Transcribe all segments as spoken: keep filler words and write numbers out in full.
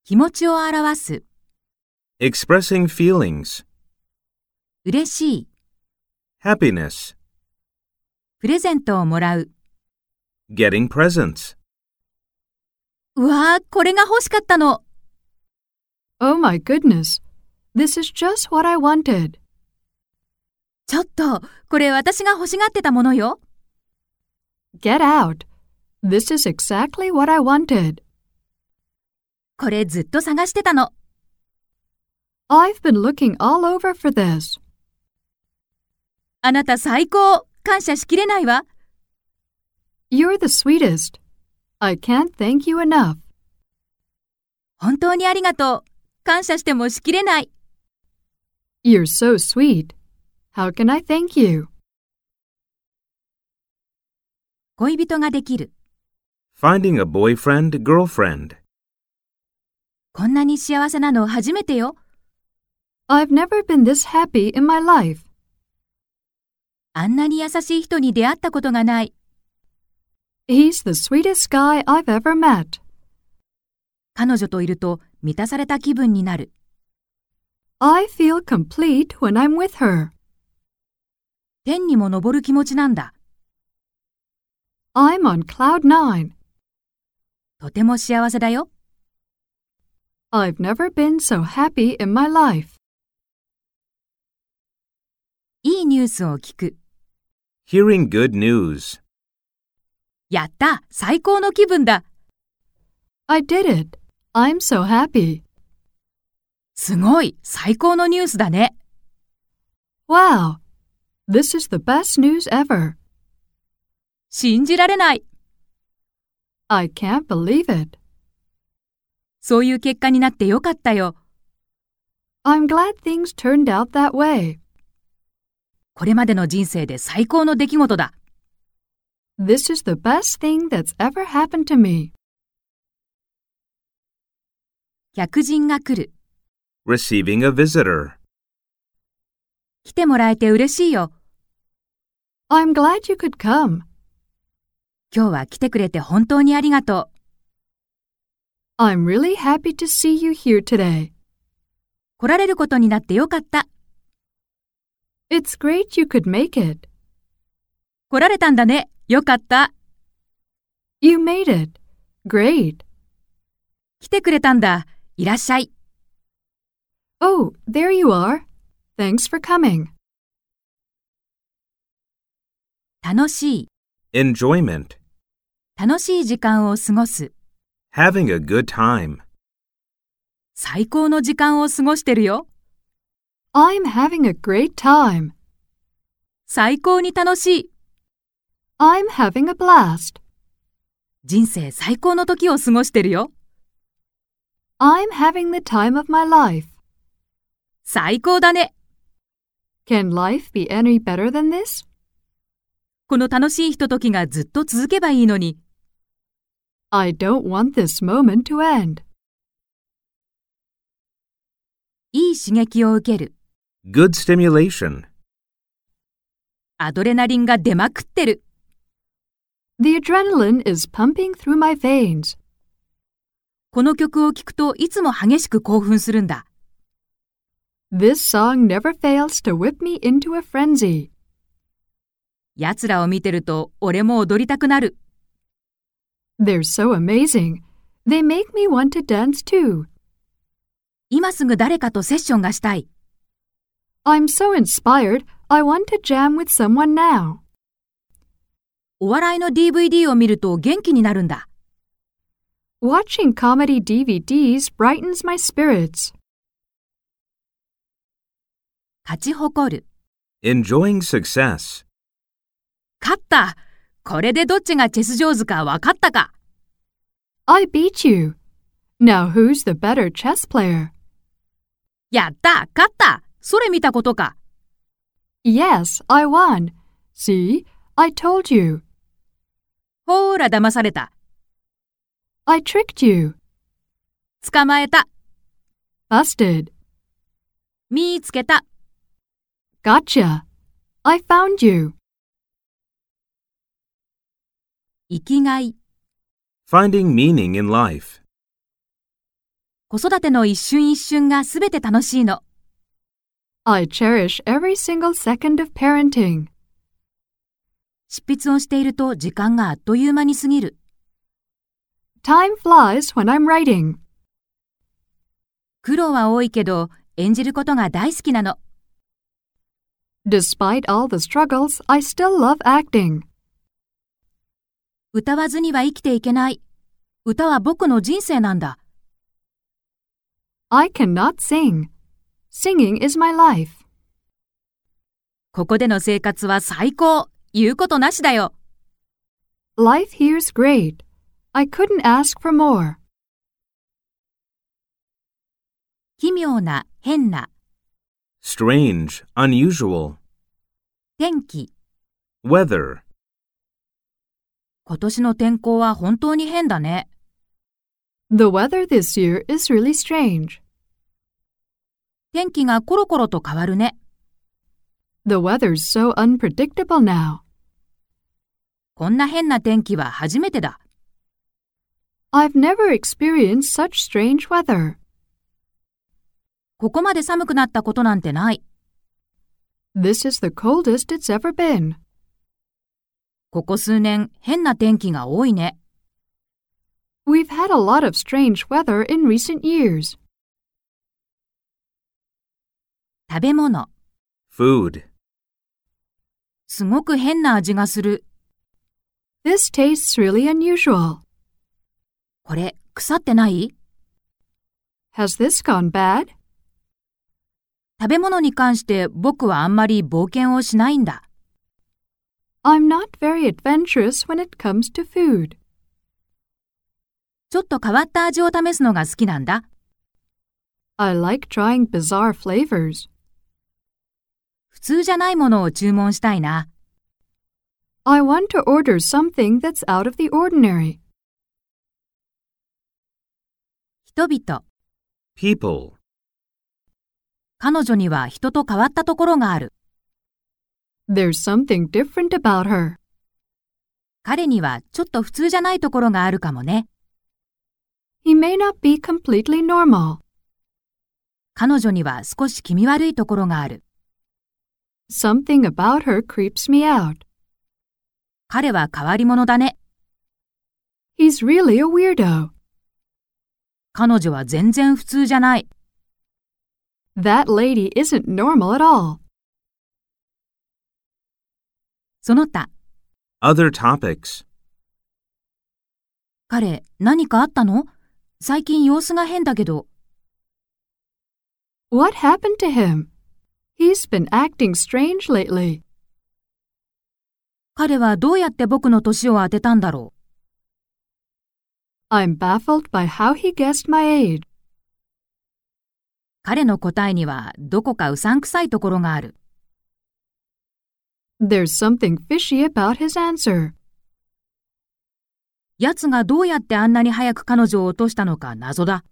気持ちを表す。 expressing feelings, 嬉しい。 happiness, プレゼントをもらう。 getting presents. うわー、これが欲しかったの。 Oh my goodness, this is just what I wanted. ちょっと、これ私が欲しがってたものよ。 Get out. This is exactly what I wanted. これずっと探してたの。 I've been looking all over for this. あなた最高。感謝しきれないわ。 You're the sweetest. I can't thank you enough. 本当にありがとう。感謝してもしきれない。 You're so sweet. How can I thank you? 恋人ができる。 Finding a boyfriend, girlfriend. こんなに幸せなの初めてよ。 I've never been this happy in my life. あんなに優しい人に出会ったことがない。 He's the sweetest guy I've ever met. 彼女といると満たされた気分になる。 I feel complete when I'm with her. 天にも昇る気持ちなんだ。 I'm on cloud nine. とても幸せだよ。 I've never been so happy in my life. いいニュースを聞く。 Hearing good news. やった、最高の気分だ。 I did it. I'm so happy. すごい、最高のニュースだね。 Wow. This is the best news ever. 信じられない。 I can't believe it. そういう結果になってよかったよ。 I'm glad things turned out that way. これまでの人生で最高の出来事だ。 This is the best thing that's ever happened to me. 客人が来る。 Receiving a visitor. 来てもらえて嬉しいよ。 I'm glad you could come. 今日は来てくれて本当にありがとう。 I'm really happy to see you here today. 来られることになってよかった。 It's great you could make it. 来られたんだね。よかった。 You made it. Great. 来てくれたんだ。いらっしゃい。 Oh, there you are. Thanks for coming. 楽しい。 Enjoyment. 楽しい時間を過ごす。 Having a good time. 最高の時間を過ごしてるよ。 I'm having a great time. 最高に楽しい。 I'm having a blast. 人生最高の時を過ごしてるよ。 I'm having the time of my life. 最高だね。 Can life be any better than this? この楽しいひとときがずっと続けばいいのに。 I don't want this moment to end. いい刺激を受ける。 Good stimulation. アドレナリンが出まくってる。 The adrenaline is pumping through my veins. この曲を聴くといつも激しく興奮するんだ。 This song never fails to whip me into a frenzy. 奴らを見てると俺も踊りたくなる。 They're so amazing. They make me want to dance too. 今すぐ誰かとセッションがしたい。 I'm so inspired, I want to jam with someone now. お笑いの ディーブイディー を見ると元気になるんだ。 Watching comedy ディーブイディーs brightens my spirits. 勝ち誇る。 Enjoying success. 勝った。これでどっちがチェス上手か分かったか。 I beat you. Now who's the better chess player? やった、勝った。それ見たことか。 Yes, I won. See, I told you. ほーら、騙された。 I tricked you. 捕まえた。 Busted. 見つけた。 Gotcha. I found you. 生きがい。 Finding meaning in life. 子育ての一瞬一瞬がすべて楽しいの。 I cherish every single second of parenting. 執筆をしていると時間があっという間に過ぎる。 Time flies when I'm writing. 苦労は多いけど、演じることが大好きなの。 Despite all the struggles, I still love acting. 歌わずには生きていけない。歌は僕の人生なんだ。 I cannot sing. Singing is my life. ここでの生活は最高。言うことなしだよ。 Life here's great. I couldn't ask for more. 奇妙な、変な。 Strange, unusual. 天気。 Weather. 今年の天候は本当に変だね。 The weather this year is really strange. 天気がコロコロと変わるね。 The weather's so unpredictable now. こんな変な天気は初めてだ。 I've never experienced such strange weather. ここまで寒くなったことなんてない。 This is the coldest it's ever been. ここ数年、変な天気が多いね。 We've had a lot of strange weather in recent years. 食べ物。 Food. すごく変な味がする。 This tastes really unusual. これ、腐ってない？ Has this gone bad? 食べ物に関して僕はあんまり冒険をしないんだ。 I'm not very adventurous when it comes to food. ちょっと変わった味を試すのが好きなんだ。 I like trying bizarre flavors. 普通じゃないものを注文したいな。 I want to order something that's out of the ordinary. 人々。 People. 彼女には人と変わったところがある。 There's something different about her. 彼にはちょっと普通じゃないところがあるかもね。 He may not be completely normal. 彼女には少し気味悪いところがある。 Something about her creeps me out. 彼は変わり者だね。 He's really a weirdo. 彼女は全然普通じゃない。 That lady isn't normal at all. その他。 Other topics. 彼、何かあったの？最近様子が変だけど。 What happened to him? He's been acting strange lately. 彼はどうやって僕の年を当てたんだろう。 I'm baffled by how he guessed my age. 彼の答えにはどこかうさんくさいところがある。 There's something fishy about his answer. 奴がどうやってあんなに早く彼女を落としたのか謎だ。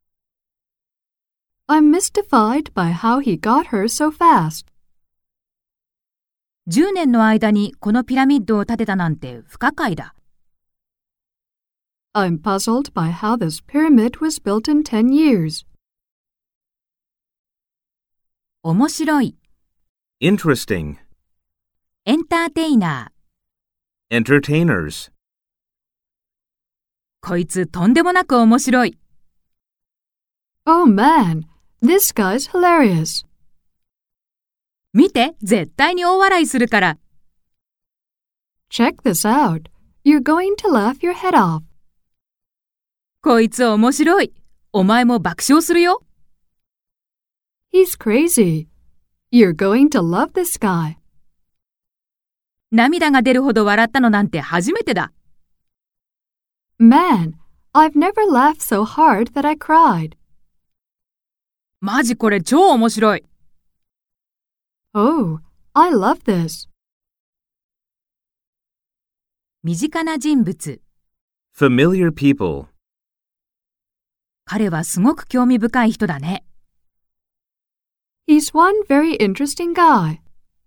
I'm mystified by how he got her so fast. じゅうねんの間にこのピラミッドを建てたなんて不可解だ。 I'm puzzled by how this pyramid was built in ten years. 面白い。 Interesting. エンターテイナー。 Entertainers. こいつとんでもなく面白い。 Oh man, this guy's hilarious. 見て、絶対に大笑いするから。 Check this out. You're going to laugh your head off. こいつ面白い。お前も爆笑するよ。 He's crazy. You're going to love this guy. 涙が出るほど笑ったのなんて初めてだ。 Man, I've never laughed so hard that I cried. マジこれ超面白い。 Oh, I love this. 身近な人物。 Familiar people. 彼はすごく興味深い人だね。 He's one very interesting guy.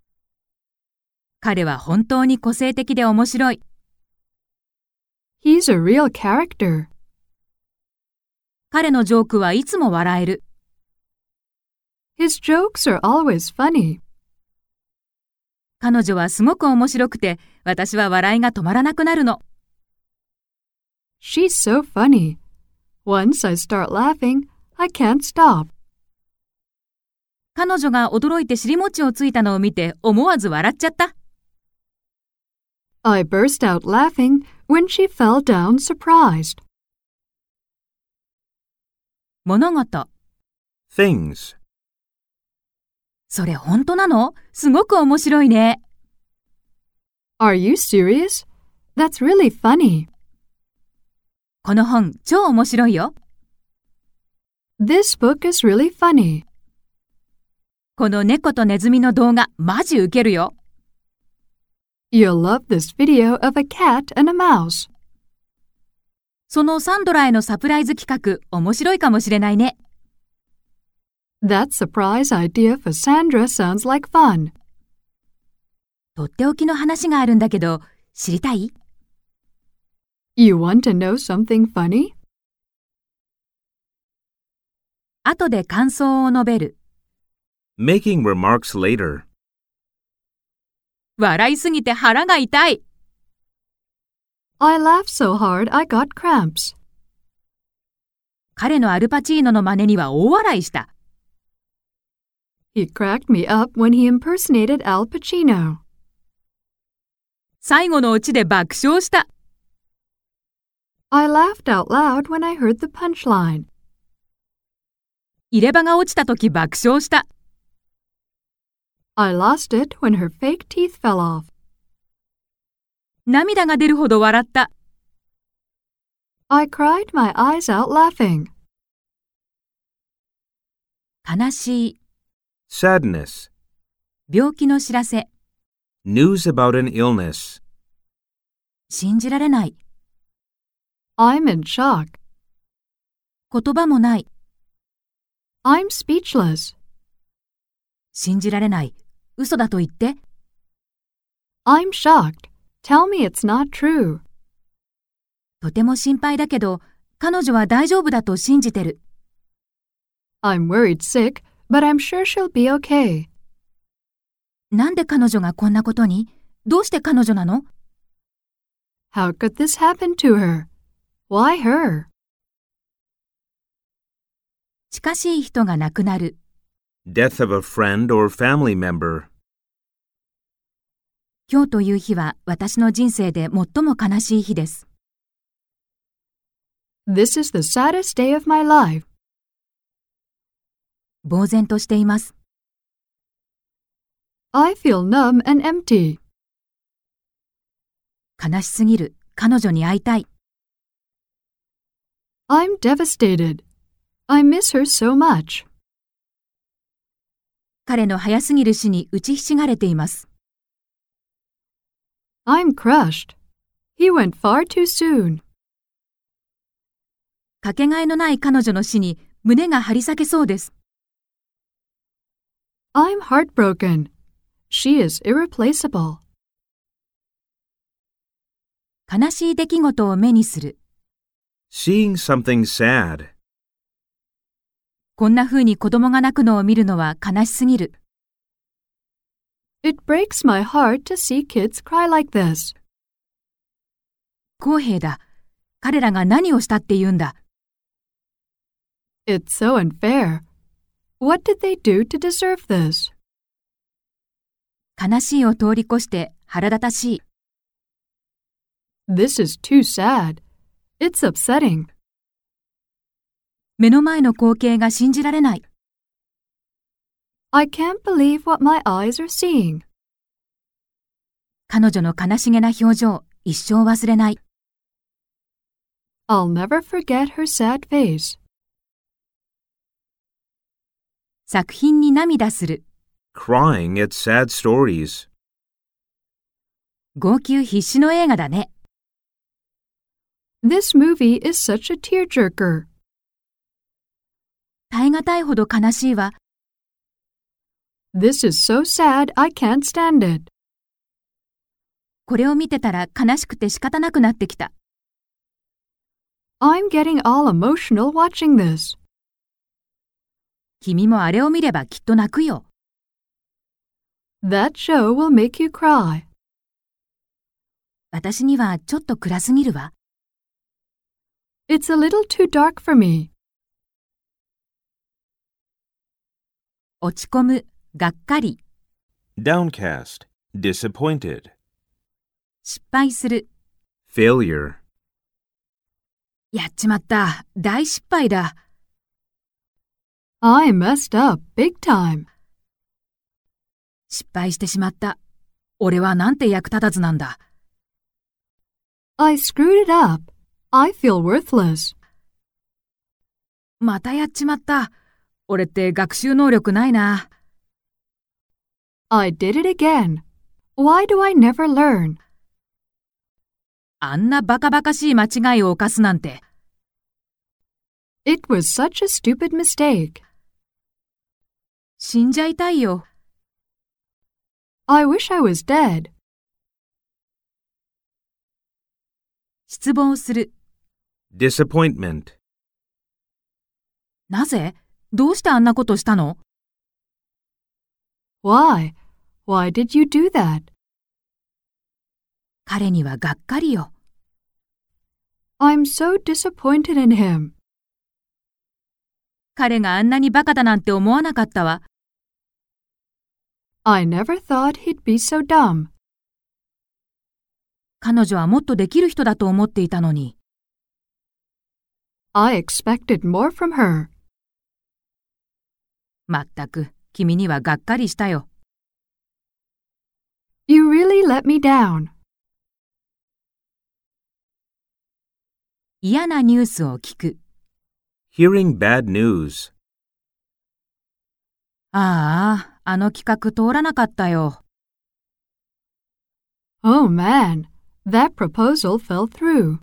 彼は本当に個性的で面白い。 He's a real character. 彼のジョークはいつも笑える。 His jokes are always funny. 彼女はすごく面白くて、私は笑いが止まらなくなるの。 She's so funny. Once I start laughing, I can't stop. 彼女が驚いて尻餅をついたのを見て思わず笑っちゃった。 I burst out laughing when she fell down surprised. 物事。 Things. それ本当なの？すごく面白いね。 Are you serious? That's really funny. この本超面白いよ。 This book is really funny. この猫とネズミの動画マジウケるよ。 You'll love this video of a cat and a mouse. そのサンドラへのサプライズ企画面白いかもしれないね。 That surprise idea for Sandra sounds like fun. とっておきの話があるんだけど、知りたい？ You want to know something funny? 後で感想を述べる。 Making remarks later. 笑いすぎて腹が痛い。 I laughed so hard I got cramps. 彼のアルパチーノの真似には大笑いした。 He cracked me up when he impersonated Al Pacino. 最後のオチで爆笑した。 I laughed out loud when I heard the punchline. 入れ歯が落ちたとき爆笑した。 I lost it when her fake teeth fell off. 涙が出るほど笑った。 I cried my eyes out laughing. 悲しい。 Sadness. 病気の知らせ。 News about an illness. 信じられない。 I'm in shock. 言葉もない。 I'm speechless. 信じられない。嘘だと言って。 I'm shocked. Tell me it's not true. とても心配だけど、彼女は大丈夫だと信じてる。 I'm worried sick, but I'm sure she'll be okay. なんで彼女がこんなことに？どうして彼女なの？ How could this happen to her? Why her? 近しい人が亡くなる。 Death of a friend or family member. 今日という日は私の人生で最も悲しい日です。 This is the saddest day of my life. 呆然としています。 I feel numb and empty. 悲しすぎる。彼女に会いたい。 I'm devastated. I miss her so much. 彼の早すぎる死に打ちひしがれています。 I'm crushed. He went far too soon. かけがえのない彼女の死に胸が張り裂けそうです。 I'm heartbroken. She is irreplaceable. 悲しい出来事を目にする。 Seeing something sad. こんな風に子供が泣くのを見るのは悲しすぎる。 It breaks my heart to see kids cry like this. 公平だ。彼らが何をしたって言うんだ。 It's so unfair. What did they do to deserve this? 悲しいを通り越して腹立たしい。 This is too sad. It's upsetting. 目の前の光景が信じられない。 I can't believe what my eyes are seeing. 彼女の悲しげな表情、一生忘れない。 I'll never forget her sad face. 作品に涙する。 Crying at sad stories. 号泣必至の映画だね。 This movie is such a tearjerker. 耐え難いほど悲しいわ。 This is so sad I can't stand it. これを見てたら悲しくて仕方なくなってきた。 I'm getting all emotional watching this. 君もあれを見ればきっと泣くよ。 That show will make you cry. 私にはちょっと暗すぎるわ。 It's a little too dark for me. 落ち込む、がっかり、 Downcast, disappointed. 失敗する。 Failure. やっちまった、大失敗だ。 I messed up big time. 失敗してしまった。俺はなんて役立たずなんだ。 I screwed it up. I feel worthless. またやっちまった。俺って学習能力ないな。 I did it again. Why do I never learn? あんなバカバカしい間違いを犯すなんて。 It was such a stupid mistake. 死んじゃいたいよ。 I wish I was dead. 失望する。 Disappointment. なぜ？どうしてあんなことしたの？ Why? Why did you do that? 彼にはがっかりよ。 I'm so disappointed in him. 彼があんなにバカだなんて思わなかったわ。 I never thought he'd be so dumb. 彼女はもっとできる人だと思っていたのに。 I expected more from her. まったく、君にはがっかりしたよ。 You really let me down. 嫌なニュースを聞く。 Hearing bad news. ああ、あの企画通らなかったよ。 Oh man, that proposal fell through.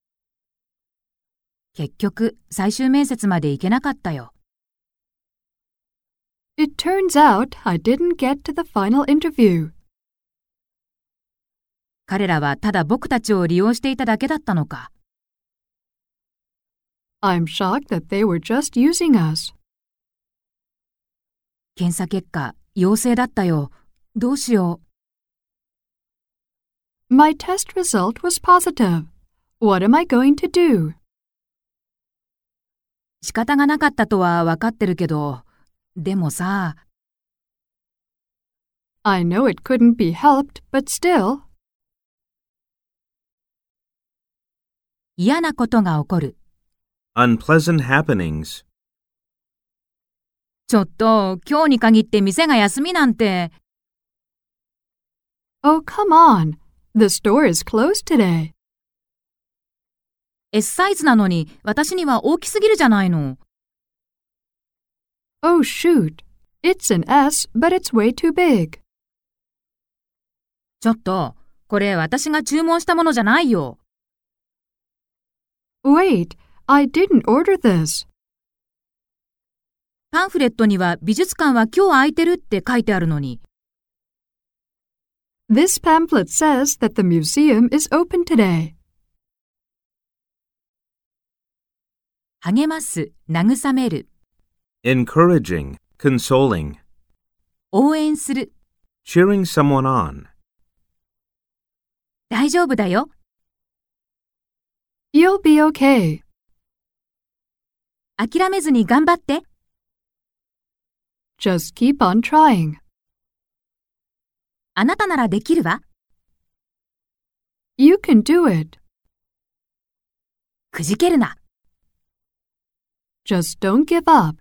結局、最終面接まで行けなかったよ。 It turns out I didn't get to the final interview. 彼らはただ僕たちを利用していただけだったのか。 I'm shocked that they were just using us. 検査結果、陽性だったよ。どうしよう。My test result was positive. What am I going to do? 仕方がなかったとは分かってるけど、でもさ。 I know it couldn't be helped, but still. 嫌なことが起こる。 Unpleasant happenings. ちょっと、今日に限って店が休みなんて。 Oh, come on. The store is closed today. S サイズなのに、私には大きすぎるじゃないの。 Oh, shoot. It's an S, but it's way too big. ちょっと、これ私が注文したものじゃないよ。 Wait, I didn't order this. パンフレットには美術館は今日空いてるって書いてあるのに。 This pamphlet says that the museum is open today. 励ます、慰める。 Encouraging, consoling. 応援する。 Cheering someone on. 大丈夫だよ。 You'll be okay. 諦めずに頑張って。 Just keep on trying. あなたならできるわ。 You can do it. くじけるな。 Just don't give up.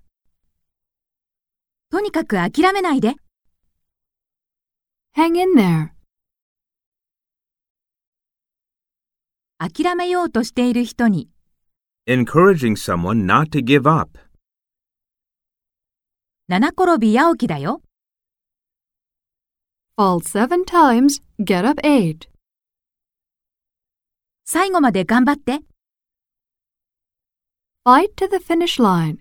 とにかく諦めないで。 Hang in there. 諦めようとしている人に。 Encouraging someone not to give up. 七転び八起きだよ。 Fall seven times, get up eight. 最後まで頑張って。 Fight to the finish line.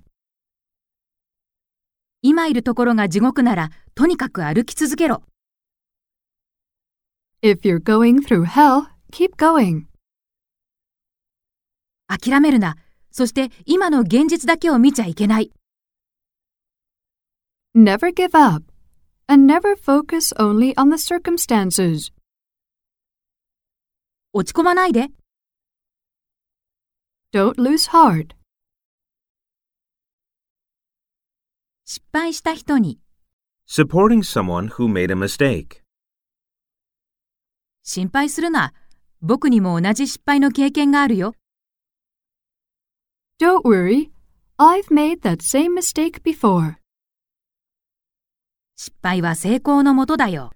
今いるところが地獄なら、とにかく歩き続けろ。 If you're going through hell, keep going. 諦めるな。そして今の現実だけを見ちゃいけない。 Never give up, and never focus only on the circumstances. 落ち込まないで。 Don't lose heart. 失敗した人に。 Supporting someone who made a mistake. 心配するな。僕にも同じ失敗の経験があるよ。 Don't worry, I've made that same mistake before. 失敗は成功のもとだよ。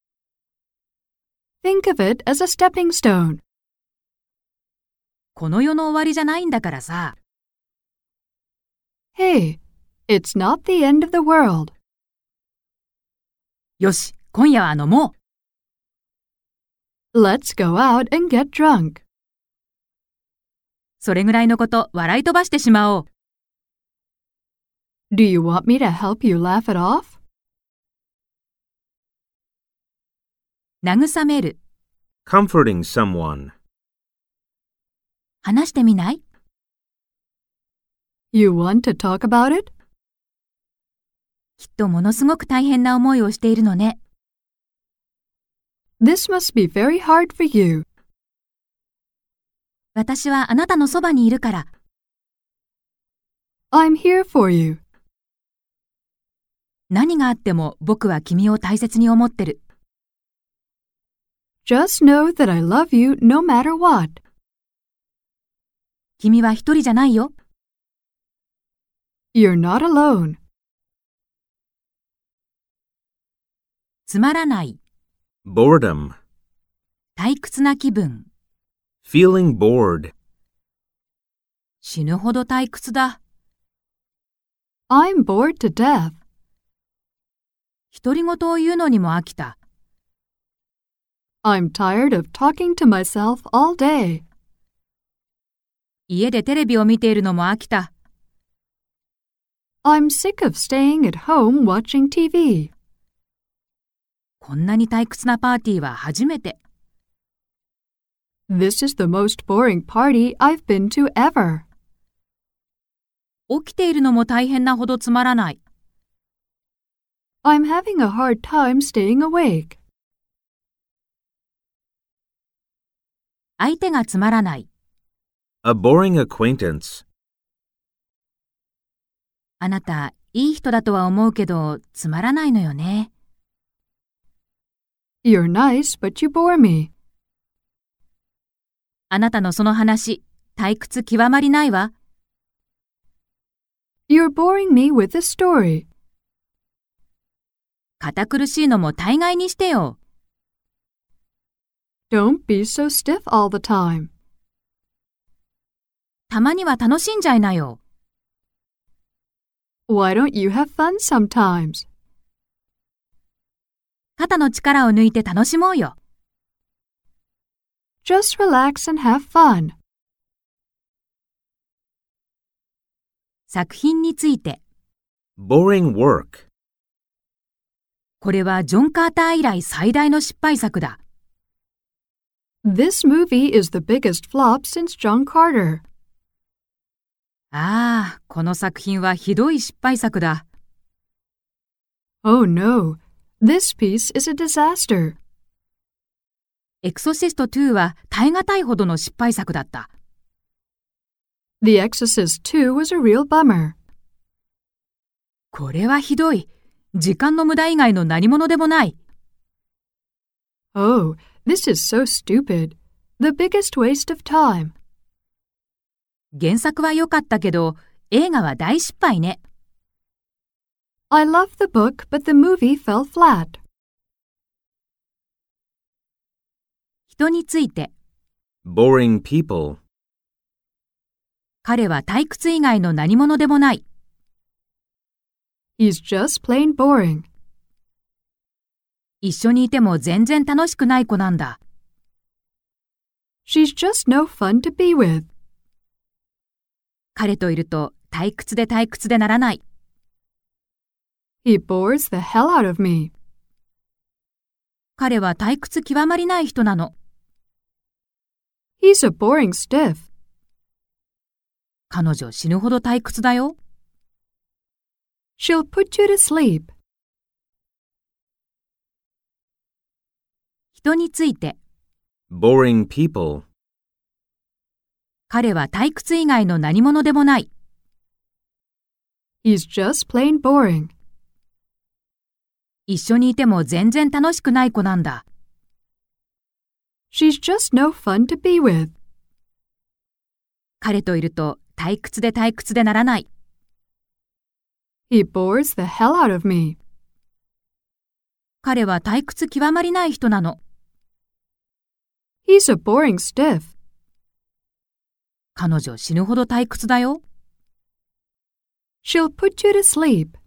Think of it as a stepping stone. この世の終わりじゃないんだからさ。 Hey, it's not the end of the world. よし、今夜は飲もう。 Let's go out and get drunk. それぐらいのこと笑い飛ばしてしまおう。 Do you want me to help you laugh it off? 慰める。 Comforting someone. 話してみない？ You want to talk about it? きっとものすごく大変な思いをしているのね。 This must be very hard for you. 私はあなたのそばにいるから。 I'm here for you. 何があっても僕は君を大切に思ってる。 Just know that I love you no matter what. 君は一人じゃないよ。 You're not alone. つまらない。 Boredom. 退屈な気分。 Feeling bored. 死ぬほど退屈だ。 I'm bored to death. 独り言を言うのにも飽きた。 I'm tired of talking to myself all day. 家でテレビを見ているのも飽きた。 I'm sick of staying at home watching T V. こんなに退屈なパーティーは初めて。 This is the most boring party I've been to ever. 起きているのも大変なほどつまらない。 I'm having a hard time staying awake. 相手がつまらない。 A boring acquaintance. あなた、いい人だとは思うけど、つまらないのよね。 You're nice, but you bore me. あなたのその話、退屈極まりないわ。 You're boring me with the story. 堅苦しいのも大概にしてよ。 Don't be so stiff all the time. たまには楽しんじゃいなよ。 Why don't you have fun sometimes? 肩の力を抜いて楽しもうよ。 Just relax and have fun. 作品について。 Boring work. これはジョン・カーター以来最大の失敗作だ。 This movie is the biggest flop since John Carter. ああ、この作品はひどい失敗作だ。 Oh no, this piece is a disaster. エクソシストツーは耐え難いほどの失敗作だった。 The Exorcist two was a real bummer. これはひどい。時間の無駄以外の何物でもない。 Oh, this is so stupid. The biggest waste of time. 原作は良かったけど、映画は大失敗ね。 I love the book, but the movie fell flat. 人について。 Boring people. 彼は退屈以外の何物でもない。 He's just plain boring. 一緒にいても全然楽しくない子なんだ。 She's just no fun to be with. 彼といると退屈で退屈でならない。 He bores the hell out of me. 彼は退屈極まりない人なの。 He's a boring stiff. 彼女死ぬほど退屈だよ。 She'll put you to sleep. 人について、 boring people, 彼は退屈以外の何者でもない。 He's just plain boring. 一緒にいても全然楽しくない子なんだ。 She's just no fun to be with. 彼といると退屈で退屈でならない。 He bores the hell out of me. 彼は退屈極まりない人なの。 He's a boring stiff. 彼女死ぬほど退屈だよ。 She'll put you to sleep.